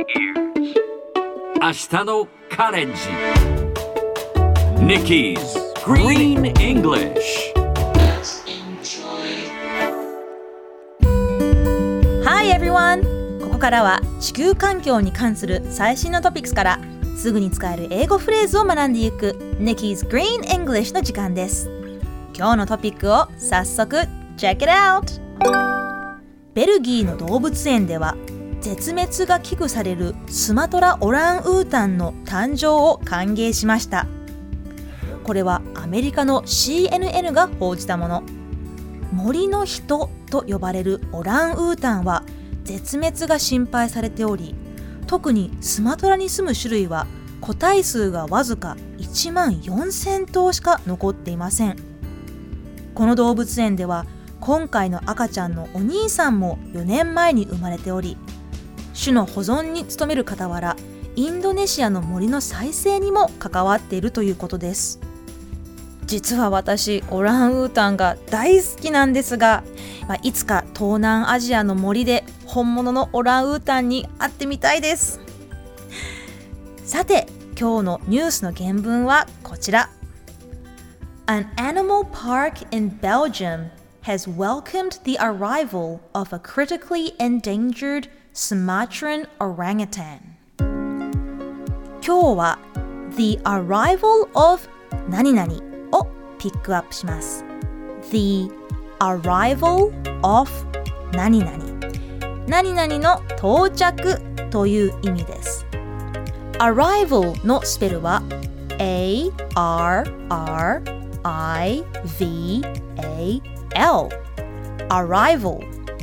明日のカレンジ Nikki's Green English。 Hi everyone! ここからは地球環境に関する最新のトピックスからすぐに使える英語フレーズを学んでいく Nikki's Green English の時間です。今日のトピックを早速 Check it out! ベルギーの動物園では絶滅が危惧されるスマトラオランウータンの誕生を歓迎しました。これはアメリカの CNN が報じたもの。森の人と呼ばれるオランウータンは絶滅が心配されており、特にスマトラに住む種類は個体数がわずか1万4000頭しか残っていません。この動物園では今回の赤ちゃんのお兄さんも4年前に生まれており、種の保存に努める傍らインドネシアの森の再生にも関わっているということです。実は私オランウータンが大好きなんですが、いつか東南アジアの森で本物のオランウータンに会ってみたいです。さて今日のニュースの原文はこちら。 An animal park in Belgium has welcomed the arrival of a critically endangered Sumatran orangutan。 今日は The arrival of 何々をピックアップします。 The arrival of 何々何々の到着という意味です。 Arrival のスペルは A-R-R-I-V-A-L Arrival。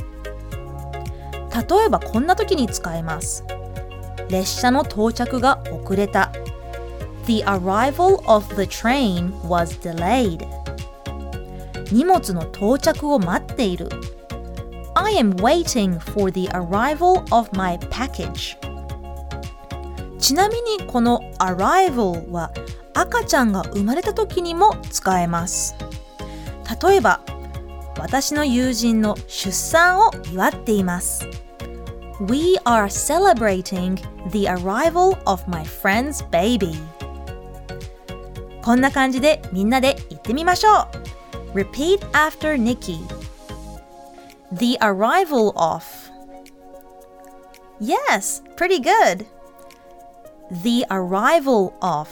例えばこんな時に使えます。列車の到着が遅れた。 The arrival of the train was delayed。 荷物の到着を待っている。 I am waiting for the arrival of my package。 ちなみにこの arrival は赤ちゃんが生まれた時にも使えます。例えば私の友人の出産を祝っています。 We are celebrating the arrival of my friend's baby。 こんな感じでみんなで言ってみましょう。 Repeat after Nikki。 The arrival of。 Yes, pretty good. The arrival of。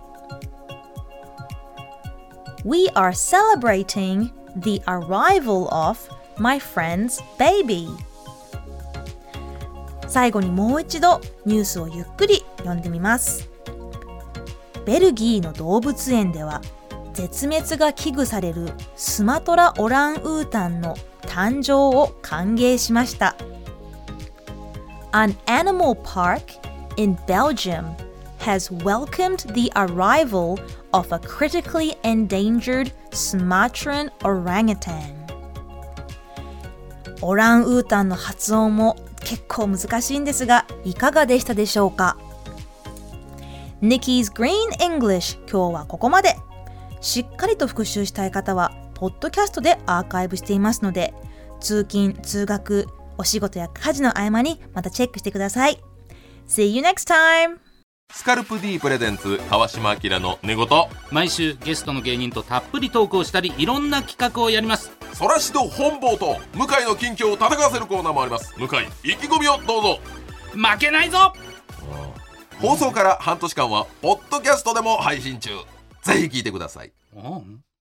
We are celebrating the arrival of my friend's baby。 最後にもう一度ニュースをゆっくり読んでみます。ベルギーの動物園では絶滅が危惧されるスマトラオランウータンの誕生を歓迎しました。 An animal park in Belgium has welcomed the arrival of a critically endangered Sumatran orangutan。 オランウータンの発音も結構難しいんですが、いかがでしたでしょうか。 Nikki's Green English 今日はここまで。しっかりと復習したい方はポッドキャストでアーカイブしていますので、通勤・通学、お仕事や家事の合間にまたチェックしてください。 See you next time! スカルプ D プレゼンツ川島明の寝言。 毎週ゲストの芸人とたっぷりトークをしたり、いろんな企画をやります。 そらしど本坊と向井の近況を戦わせるコーナーもあります。向井意気込みをどうぞ。 負けないぞ。 放送から半年間はポッドキャストでも配信中。ぜひ聞いてください。